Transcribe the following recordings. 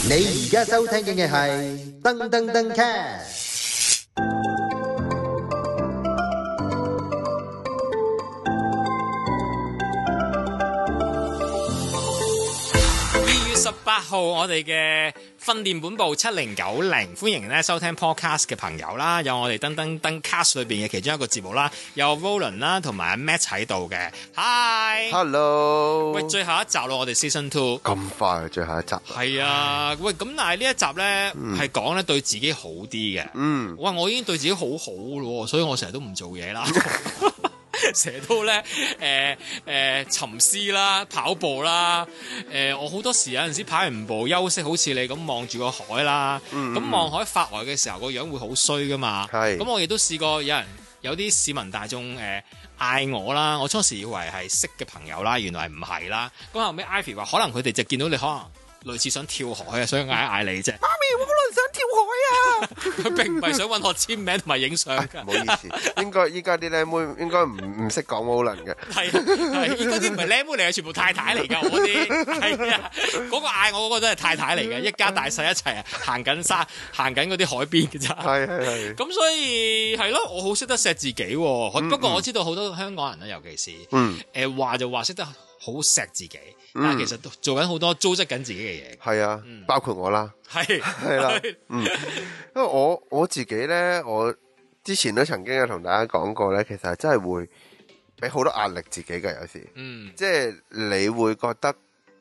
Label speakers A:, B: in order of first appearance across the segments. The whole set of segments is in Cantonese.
A: 你而家收聽嘅係噔噔噔 cast。
B: 2月18號，我哋嘅訓練本部7090，歡迎咧收聽 podcast 嘅朋友啦，有我哋噔噔噔 cast 裏邊嘅其中一個節目啦，有 Roland 啦同埋 Matt 喺度嘅
C: Hi，Hello，
B: 喂，最後一集咯，我哋 Season 2
C: 咁快最後一集，
B: 係啊，喂，咁但係呢一集咧係講咧對自己好啲嘅，喂，我已經對自己好好咯，所以我成日都唔做嘢啦。成日都咧沉思啦，跑步啦，我好多時有陣時跑完步休息，好似你咁望住個海啦，咁望海發呆嘅時候個樣會好衰噶嘛。咁我亦都試過有啲市民大眾嗌我啦，我初時以為係識嘅朋友啦，原來唔係啦。咁後尾 Ivy 話可能佢哋就見到你可能類似想跳海啊，所以嗌你啫。媽咪，我可能想跳海啊！佢並唔係想揾我簽名同埋影相㗎。
C: 唔好意思，應該依家啲靚妹應該唔識講 Roland 嘅。
B: 係，依嗰啲唔係靚妹嚟嘅，全部太太嚟㗎。我啲係啊，嗰個嗌我嗰個都係太太嚟嘅，一家大細一齊啊，行緊嗰啲海邊嘅咋。係。咁所以係咯，我好識得錫自己喎。不過我知道好多香港人咧，尤其是話就話識得好錫自己，但係其實做緊好多糟質緊自己嘅嘢。
C: 係啊，包括我啦。係啦，因為我自己咧，我之前都曾經有同大家講過咧，其實係真係會俾好多壓力自己嘅，有時，即係你會覺得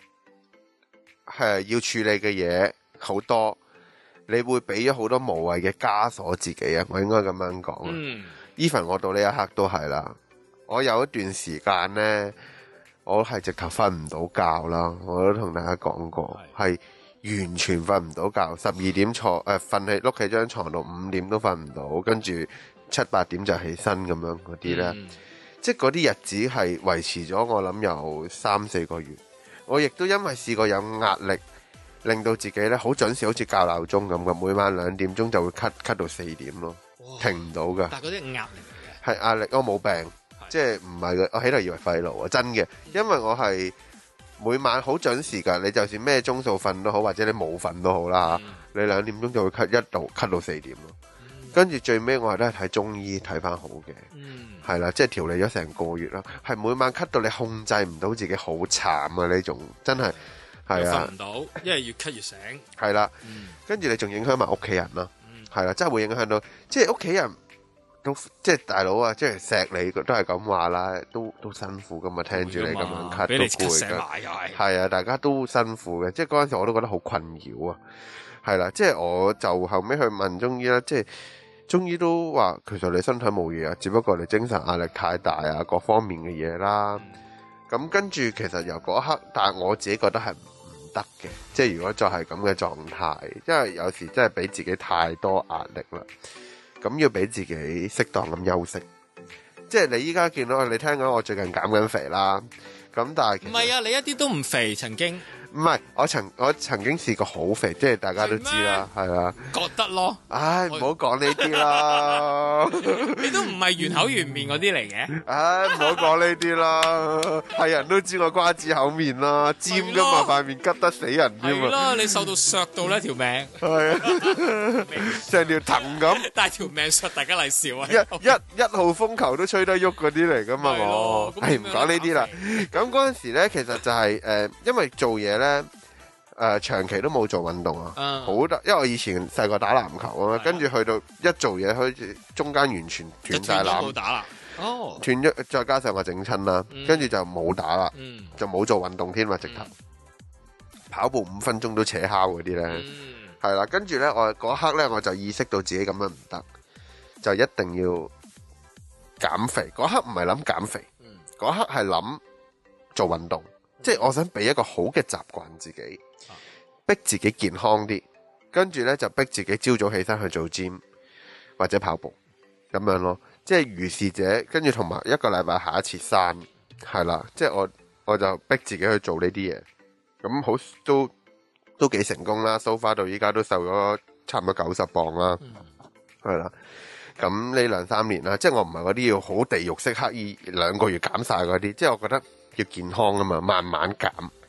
C: 係要處理嘅嘢好多，你會俾咗好多無謂嘅枷鎖自己啊！我應該咁樣講。even 我到呢一刻都係啦，我有一段時間咧，我係直頭瞓唔到覺啦，我都同大家講過，係完全瞓唔到覺，12點瞓喺碌起張床度，5點都瞓唔到，跟住7、8點就起身咁樣嗰啲咧，即係嗰啲日子係維持咗我諗有3、4個月。我亦都因為試過有壓力，令到自己咧好準時，好似校鬧鐘咁嘅，每晚2點鐘就會咳到4點咯，停唔到㗎。
B: 但係嗰啲壓力嚟嘅，
C: 係壓力，我冇病。即係唔係嘅，我喺度以為肺癆啊，真嘅，因為我係每晚好準時㗎，你就算咩鐘數瞓都好，或者你冇瞓都好啦，你2點鐘就會咳到4點咯，跟住最尾我係都係睇中醫睇翻好嘅，係啦，即係調理咗成個月啦，係每晚咳到你控制唔到自己，好慘啊！呢種真係係啊，
B: 瞓唔到，因為越咳越醒，
C: 係啦，跟住你仲影響埋屋企人啦，係啦，真係會影響到，即係屋企人。都即係大佬啊，即係錫你都係咁話啦，都辛苦噶嘛，聽住你咁樣咳都攰噶，係啊，大家都辛苦嘅，即係嗰陣時我都覺得好困擾啊，係啦，即係我就後尾去問中醫啦，即係中醫都話其實你身體冇嘢啊，只不過你精神壓力太大啊，各方面嘅嘢啦，咁跟住其實由嗰一刻，但係我自己覺得係唔得嘅，即係如果再係咁嘅狀態，因為有時真係俾自己太多壓力啦。咁要俾自己適當咁休息，即係你依家見到你聽講我最近減緊肥啦，咁但係
B: 唔係啊，你一啲都唔肥，曾經
C: 唔係我曾經試過好肥，即係大家都知啦，係啊，
B: 覺得咯，
C: 唉，唔好講呢啲啦，
B: 你都唔係圓口圓面嗰啲嚟嘅，
C: 唉，唔好講呢啲啦，係人都知我瓜子口面啦，尖噶嘛塊面，吉得死人添嘛，
B: 係咯，你瘦到削到呢條命，
C: 係啊，成條藤咁，
B: 但係條命削大家嚟笑啊，
C: 一號風球都吹得喐嗰啲嚟噶嘛，我係唔講呢啲啦，咁嗰陣時咧，其實就係因為做嘢咧，長期都冇做運動啊，好得，因為我以前細個打籃球啊，跟住去到一做嘢，好似中間完全斷晒纜，
B: 冇打啦，哦，
C: 斷咗，再加上我整親啦，跟住就冇打啦，就冇做運動添嘛，直頭跑步5分鐘都扯敲嗰啲咧，係啦，跟住咧我嗰刻咧我就意識到自己咁樣唔得，就一定要減肥。嗰刻唔係諗減肥，嗰刻係諗做運動。即係我想俾一個好嘅習慣自己，逼自己健康啲，跟住呢就逼自己朝早起身去做 gym 或者跑步咁樣咯。即係如是者，跟住同埋一個禮拜下一次山，係啦。即係我就逼自己去做呢啲嘢，咁好都幾成功啦。So far 到依家都瘦咗差唔多90磅啦，係啦。咁呢2-3年啦，即係我唔係嗰啲要好地獄式刻意2個月減晒嗰啲，即係我覺得要健康啊嘛，慢慢減。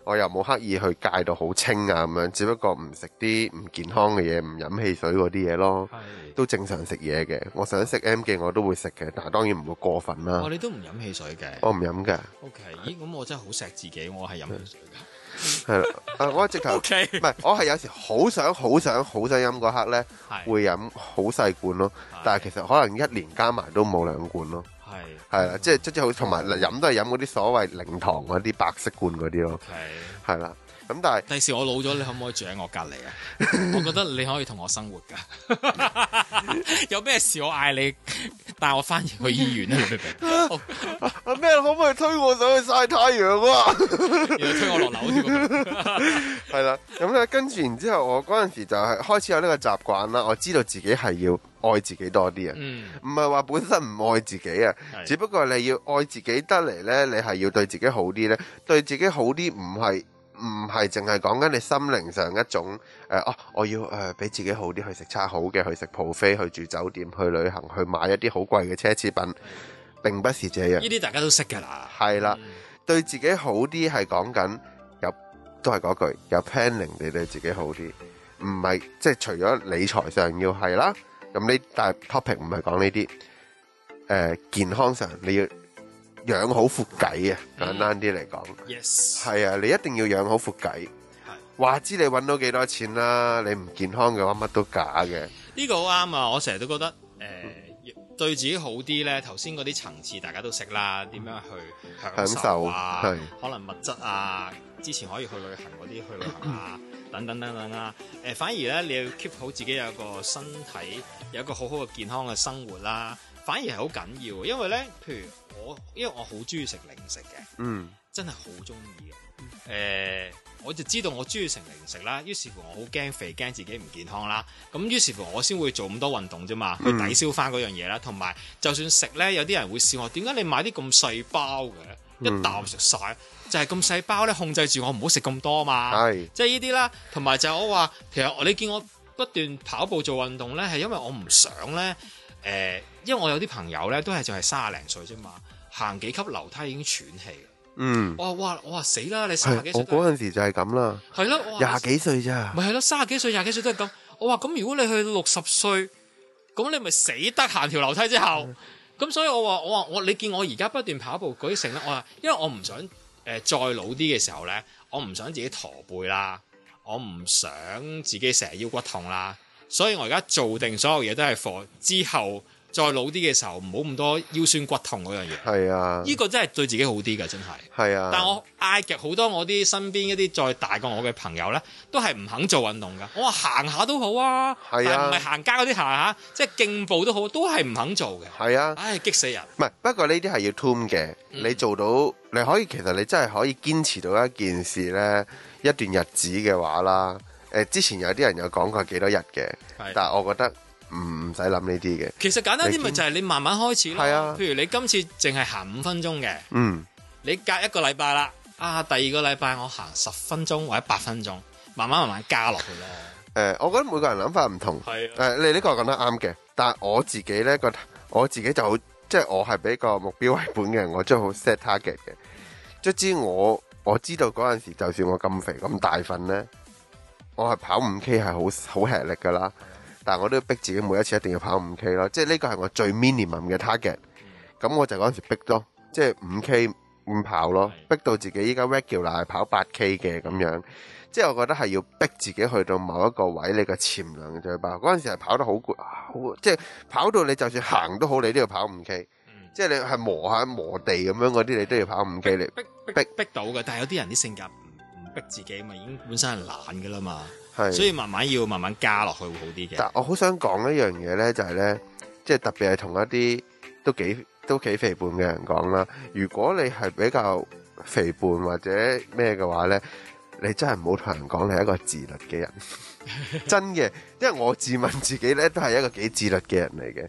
C: 我又冇刻意去戒到好清啊咁樣，只不過唔食啲唔健康嘅嘢，唔飲汽水嗰啲嘢咯，都正常食嘢嘅。我想食 M 記我都會食嘅，但係當然唔會過分啦。
B: 你都唔飲汽水嘅？我
C: 唔飲嘅。
B: OK， 咦，咁我真係好錫自己，我係飲汽水㗎。
C: 係啦，我直頭唔係，我係有時好想飲嗰刻咧，會飲好細罐咯。但係其實可能一年加埋都冇2罐咯。係啦，即係好，同埋飲都係飲嗰啲所謂零糖嗰啲白色罐嗰啲咯。係啦，咁但係
B: 第時我老咗，你可唔可以住喺我隔離啊？我覺得你可以同我生活㗎。有咩事我嗌你帶我翻去醫院啊？你明唔明？
C: 咩可唔可以推我上去曬太陽啊？
B: 要推我落樓添。
C: 係啦，咁咧跟住然之後，我嗰陣時就係開始有呢個習慣啦。我知道自己係要愛自己多啲啊，唔係話本身唔愛自己啊，只不過你要愛自己得嚟呢，你係要對自己好啲呢。對自己好啲唔係淨係講緊你心靈上一種我要俾自己好啲，去食餐好嘅，去食 buffet，去住酒店，去旅行，去買一啲好貴嘅奢侈品，並不是這樣。
B: 呢啲大家都識㗎啦。
C: 係啦，對自己好啲係講緊都係嗰句有 planning，你對自己好啲，唔係即係除咗理財上要係啦。咁呢，但係 topic 唔係講呢啲，健康上你要養好副計啊，簡單啲嚟講。
B: Yes，
C: 係啊，你一定要養好副計。話知你揾到幾多錢啦，你唔健康嘅話乜都假嘅。
B: 呢個好啱啊！我成日都覺得對自己好啲咧，頭先嗰啲層次大家都識啦，點樣去享受啊，可能物質啊，之前可以去旅行嗰啲去旅行啊，等等啊。反而咧你要 keep 好自己有一個身體，有一個好好嘅健康嘅生活啦，反而係好緊要。因為咧，譬如因為我好中意食零食嘅，真係好中意嘅。我就知道我中意食零食啦，於是乎我好驚肥，驚自己唔健康啦。咁於是乎我先會做咁多運動啫嘛，去抵消翻嗰樣嘢啦。同埋就算食咧，有啲人會笑我，點解你買啲咁細包嘅，一啖食晒？就係咁細包咧，控制住我唔好食咁多嘛。即係呢啲啦。同埋就係我話，其實你見我不斷跑步做運動咧，係因為我唔想咧，因為我有啲朋友咧都係就係30零歲啫嘛，行幾級樓梯已經喘氣。我話死啦！你30幾歲，
C: 我嗰陣時就係咁啦。係咯，20幾歲咋？
B: 咪係咯，30幾歲、20幾歲都係咁。我話咁，如果你去60歲，咁你咪死得行條樓梯之後。咁所以我話你見我而家不斷跑步嗰啲成咧，我話因為我唔想再老啲嘅時候咧，我唔想自己駝背啦，我唔想自己成日腰骨痛啦，所以我而家做定所有嘢都係 for 之後。再老啲嘅時候，唔好咁多腰酸骨痛嗰樣嘢。係啊，呢個真係對自己好啲㗎，真係。係啊。但我嗌極好多我啲身邊一啲再大過我嘅朋友咧，都係唔肯做運動㗎。我話行下都好啊，係啊，唔係行街嗰啲行下，即係競步都好，都係唔肯做嘅。係啊。唉，激死人。唔係，不過呢啲係要 tune 嘅。你做到，你可以其實你真係可以堅持到一件事咧，一段日子嘅話啦。之前有啲人有講過幾多日嘅，但係我覺得。唔使諗呢啲嘅，其實簡單啲咪就係你慢慢開始咯。係啊，譬如你今次淨係行5分鐘嘅，你隔1個禮拜啦，第2個禮拜我行10分鐘或者8分鐘，慢慢加落去咯。我覺得每個人諗法唔同。係你呢個講得啱嘅，但係我自己咧覺得，我自己就好，即係我係俾個目標為本嘅人，我真係好 set target 嘅。卒之我知道嗰陣時，就算我咁肥咁大份咧，我係跑5K 係好吃力噶啦。但係我都要逼自己每一次一定要跑5K 咯，即係呢個係我最 minimum 嘅 target。咁我就嗰陣時逼咯，即係5K 咁跑咯，逼到自己依家 regular 係跑8K 嘅咁樣。即係我覺得係要逼自己去到某一個位，你個潛能就去跑。嗰陣時係跑得好攰，即係跑到你就算行都好，你都要跑5K。即係你係磨地咁樣嗰啲，你都要跑5K 嚟逼到嘅。但係有啲人啲性格唔逼自己嘛，已經本身係懶㗎啦嘛。所以慢慢加落去會好啲嘅。但我好想講一樣嘢咧，就係咧，即係特別係同一啲都幾肥胖嘅人講啦。如果你係比較肥胖或者咩嘅話咧，你真係唔好同人講你係一個自律嘅人。真嘅，因為我自問自己咧都係一個幾自律嘅人嚟嘅。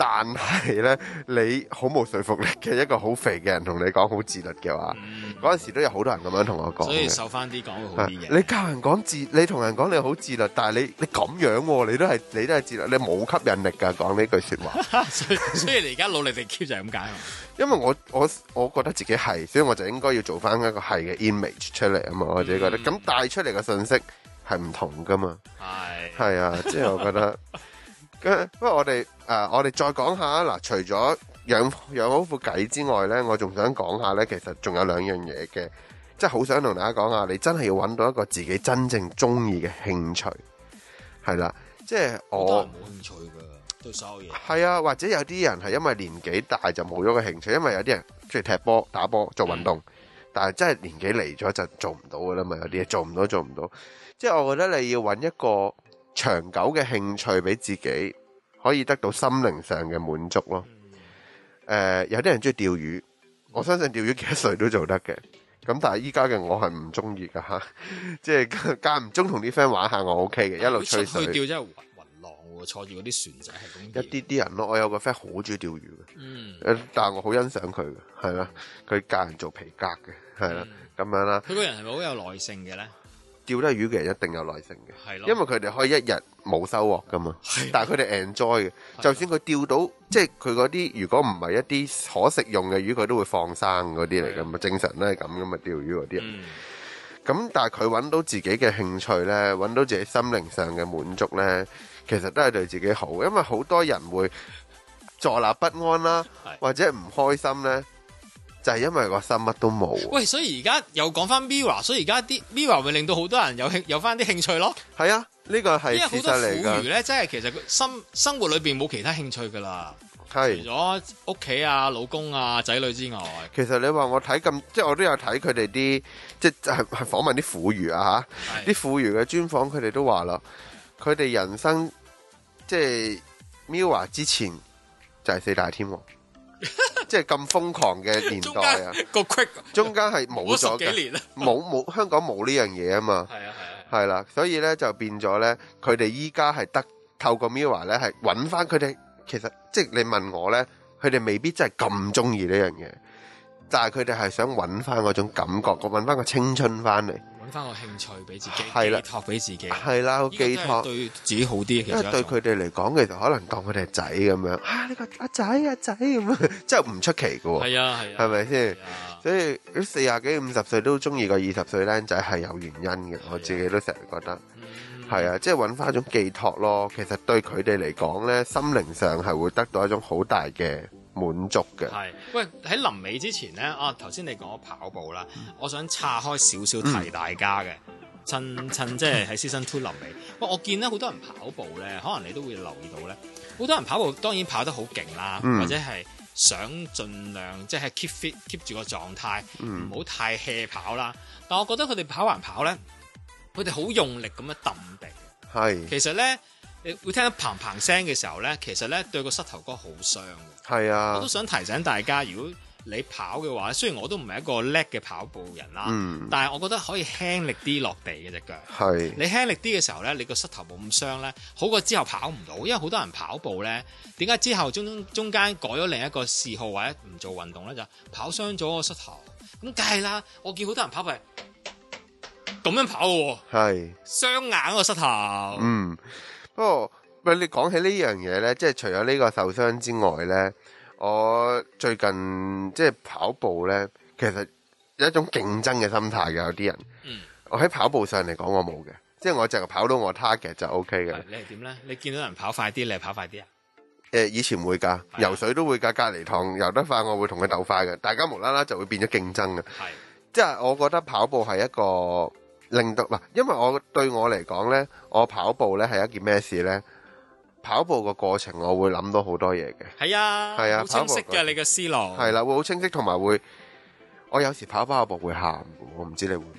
C: 但係咧，你好冇說服力嘅一個好肥嘅人同你講好自律嘅話，嗰陣時都有好多人咁樣同我講嘅。
B: 所以瘦翻啲講會好啲嘅。
C: 你教人講你同人講你好自律，但係你咁樣喎，你都係自律，你冇吸引力㗎。講呢句説話。
B: 所以你而家努力地 keep 就係咁解。
C: 因為我覺得自己係，所以我就應該要做翻一個係嘅 image 出嚟啊嘛。我自己覺得咁帶出嚟嘅信息係唔同㗎嘛。係啊，即係我覺得。不過我哋再講下嗱，除咗養好副計之外咧，我仲想講下咧，其實仲有兩樣嘢嘅，即係好想同大家講下，你真係要揾到一個自己真正中意嘅興趣，係啦，即係我
B: 冇興趣㗎，對所有嘢
C: 係啊，或者有啲人係因為年紀大就冇咗個興趣，因為有啲人中意踢波、打波、做運動，但係真係年紀嚟咗就做唔到㗎啦嘛，有啲嘢做唔到，即係我覺得你要揾一個長久嘅興趣俾自己，可以得到心靈上嘅滿足咯。有啲人中意釣魚，我相信釣魚幾多歲都做得嘅。咁但係依家嘅我係唔中意噶吓，即係間唔中同啲 friend 玩下我 OK 嘅，一路吹水。
B: 去釣真係暈浪喎，坐住嗰啲船仔係咁。
C: 一啲人咯，我有個 friend 好中意釣魚嘅，但係我好欣賞佢嘅，係啦，佢教人做皮革嘅，係啦，咁樣啦。
B: 佢個人係咪好有耐性嘅咧？
C: 釣得魚嘅人一定有耐性嘅，
B: 係咯，
C: 因為佢哋可以一日冇收穫噶嘛，但係佢哋 enjoy 嘅，就算佢釣到，即係佢嗰啲如果唔係一啲可食用嘅魚，佢都會放生嗰啲嚟噶嘛，正常都係咁噶嘛，釣魚嗰啲人。咁但係佢揾到自己嘅興趣呢，揾到自己心靈上嘅滿足呢，其實都係對自己好，因為好多人會坐立不安啦，或者唔開心呢。就係因為個心乜都冇。
B: 喂，所以而家又講翻 Mirror， 所以而家啲 Mirror 會令到好多人有翻啲興趣咯。
C: 係啊，呢個係事實嚟㗎。因為好多婦孺咧，真係其實生活裏邊冇其他興趣㗎啦。係。除咗屋企啊、老公啊、仔女之外， 其實你話我睇咁，即係我都有睇佢哋啲，即係訪問啲婦孺啊嚇，啲婦孺嘅專訪，佢哋都話啦，佢哋人生即係 Mirror 之前就係四大天王。即係咁瘋狂嘅年代啊！中間係冇咗嘅，冇香港冇呢樣嘢啊嘛。係啦，所以咧就變咗咧，佢哋依家係得透過 Mirror 咧係揾翻佢哋。其實即係你問我咧，佢哋未必真係咁中意呢樣嘢，但係佢哋係想揾翻嗰種感覺，揾翻個青春翻嚟。揾翻個興趣俾自己，寄託俾自己，係啦，寄託對自己好啲。其實因為對佢哋嚟講，其實可能當佢哋係仔咁樣啊，呢個阿仔咁樣，真係唔出奇噶。係啊，係咪先？所以40幾50歲都中意個20歲僆仔係有原因嘅。我自己都成日覺得係啊，即係揾翻一種寄託咯。其實對佢哋嚟講咧，心靈上係會得到一種好大嘅滿足嘅。係，
B: 喂，喺臨尾之前咧，頭先你講跑步啦，我想岔開少少提大家嘅，趁即係喺 Season 2臨尾。喂，我見咧好多人跑步咧，可能你都會留意到咧，好多人跑步當然跑得好勁啦，或者係想盡量即係 keep fit keep 住個狀態，唔好太 hea 跑啦。但我覺得佢哋跑還跑咧，佢哋好用力咁樣揼地。係，其實咧。你會聽到砰砰聲嘅時候咧，其實咧對個膝頭哥好傷嘅。係啊，我都想提醒大家，如果你跑嘅話，雖然我都唔係一個叻嘅跑步人啦，但係我覺得可以輕力啲落地嘅隻腳。係，你輕力啲嘅時候咧，你個膝頭冇咁傷咧，好過之後跑唔到。因為好多人跑步咧，點解之後中間改咗另一個嗜好或者唔做運動咧，就跑傷咗個膝頭。咁梗係啦，我見好多人跑步係咁樣跑嘅喎，係傷硬個膝頭。
C: 不過，喂，你講起呢樣嘢呢，即係除咗呢個受傷之外呢，我最近即係跑步呢，其實有一種競爭嘅心態嘅，有啲人。我喺跑步上嚟講，我冇嘅，即係我淨係跑到我 target 就 OK 嘅。
B: 你係點呢？你見到人跑快啲，你係跑快啲啊？
C: 以前會㗎，游水都會㗎，隔離堂游得快，我會同佢鬥快嘅，大家無啦啦就會變咗競爭嘅。即係我覺得跑步係一個。令到嗱，因為對我嚟講呢，我跑步呢係一件咩事呢？跑步個過程我會諗到好多嘢嘅。係啊，係啊，好清晰嘅你嘅思路。係啦，會好清晰，同埋會，我有時跑步會喊，我唔知你會唔會？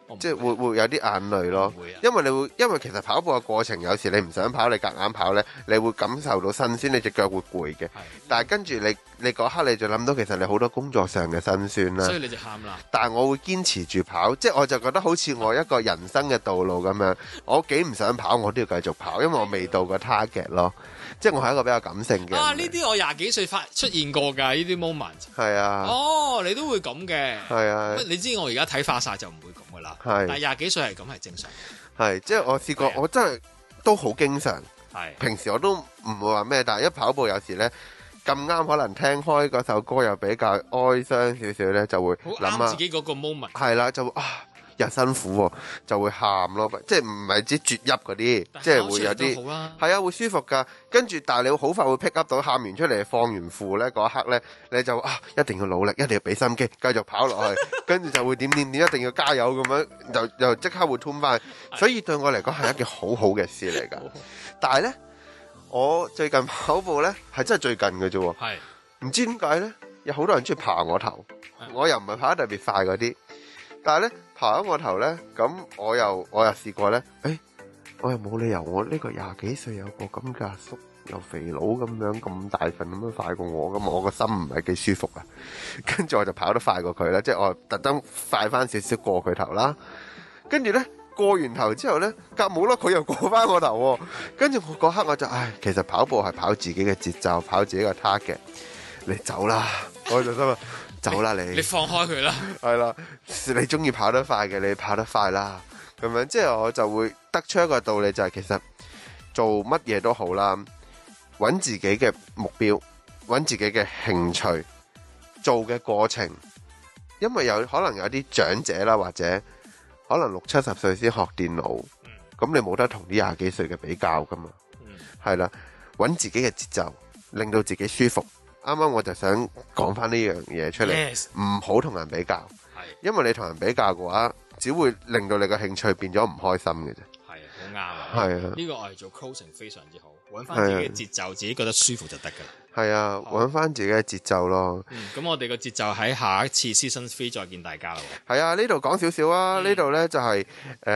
C: 即係會有啲眼淚咯。因為其實跑步嘅過程，有時你唔想跑，你夾硬跑呢，你會感受到辛酸，你隻腳會攰嘅。但係跟住你嗰刻你就諗到，其實你好多工作上嘅辛酸啦。
B: 所以你就喊啦。
C: 但係我會堅持住跑，即係我就覺得好似我一個人生嘅道路咁樣，我幾唔想跑，我都要繼續跑，因為我未到個 target 咯。即係我係一個比較感性嘅。
B: 呢啲我廿幾歲出現過㗎，呢啲 moment。係
C: 啊。
B: 你都會咁嘅。係啊。你知我而家睇化曬就唔會咁㗎啦。但係廿幾歲係咁係正常。係，
C: 即係我試過，我真係都好經常。平時我都唔會話咩，但係一跑步有時咧咁啱，可能聽開嗰首歌又比較哀傷少少咧，就會諗下
B: 自己嗰個 moment。
C: 係啦，就會又辛苦喎，就會喊咯，即係唔係指啜泣嗰啲，即係會有啲係啊，會舒服噶。跟住，但係你好快會 pick up 到，喊完出嚟放完負咧嗰一刻咧，你就一定要努力，一定要俾心機，繼續跑落去，跟住就會點，一定要加油咁樣，又即刻會 turn 翻。所以對我嚟講係一件好好嘅事嚟㗎。但係咧，我最近跑步咧係真係最近嘅啫喎，唔知點解咧，有好多人中意爬我頭，我又唔係跑得特別快嗰啲，但係咧。爬喺我頭咧，咁我又試過咧，我又冇理由我呢個廿幾歲有個咁嘅阿叔又肥佬咁樣咁大份咁樣快過我，咁我個心唔係幾舒服啊。跟住我就跑得快過佢啦，即係我特登快翻少少過佢頭啦。跟住咧過完頭之後咧，隔冇啦，佢又過翻我頭。跟住我嗰刻我就其實跑步係跑自己嘅節奏，跑自己嘅 target。你走啦，我就心諗。走啦你
B: 放開佢啦，
C: 係啦，你中意跑得快嘅，你跑得快啦，咁樣即係我就會得出一個道理，就係其實做乜嘢都好啦，揾自己嘅目標，揾自己嘅興趣，做嘅過程，因為可能有啲長者啦，或者可能60-70歲先學電腦，咁你冇得同啲廿幾歲嘅比較噶嘛，係啦，揾自己嘅節奏，令到自己舒服。啱啱我就想講翻呢樣嘢出嚟，唔好同人比較，因為你同人比較嘅話，只會令到你個興趣變咗唔開心嘅啫。係啊，好啱啊！係啊，呢個我係做 closing 非常之好，揾翻自己嘅節奏，自己覺得舒服就得㗎啦。係啊，揾翻自己嘅節奏咯。咁我哋個節奏喺下一次 Season 3再見大家啦。係啊，呢度講少少啊，呢度呢就係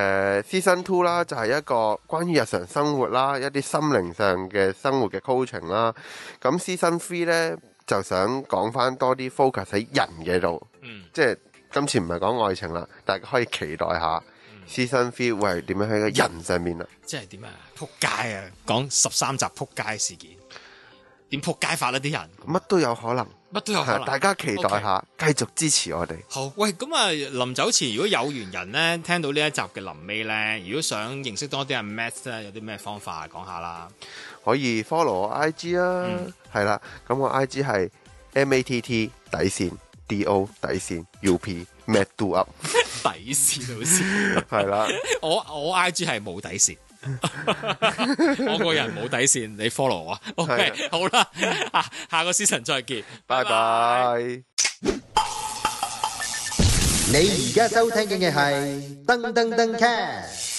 C: Season 2啦，就係一個關於日常生活啦，一啲心靈上嘅生活嘅 coaching 啦。咁 Season 3呢就想講翻多啲 focus 喺人嘅度，即係今次唔係講愛情啦，大家可以期待下。Season 3會係點樣喺個人上面啊？即係點啊？撲街啊！講13集撲街事件，點撲街法呢？啲人乜都有可能，乜都有可能。大家期待下，繼續支持我哋。好，喂，咁啊，臨走前如果有緣人咧，聽到呢一集嘅臨尾咧，如果想認識多啲阿 Matt 咧，有啲咩方法講下啦？可以 follow 我 IG 啊，係啦，咁我 IG 係 MATT_DO_ UP Matt Do Up 底線老師係啦，我 IG 係冇底線，我個人冇底線，你 follow 我 ，OK 好啦，下個 season 再見，拜拜。
A: 你而家收聽嘅係噔噔噔 cast。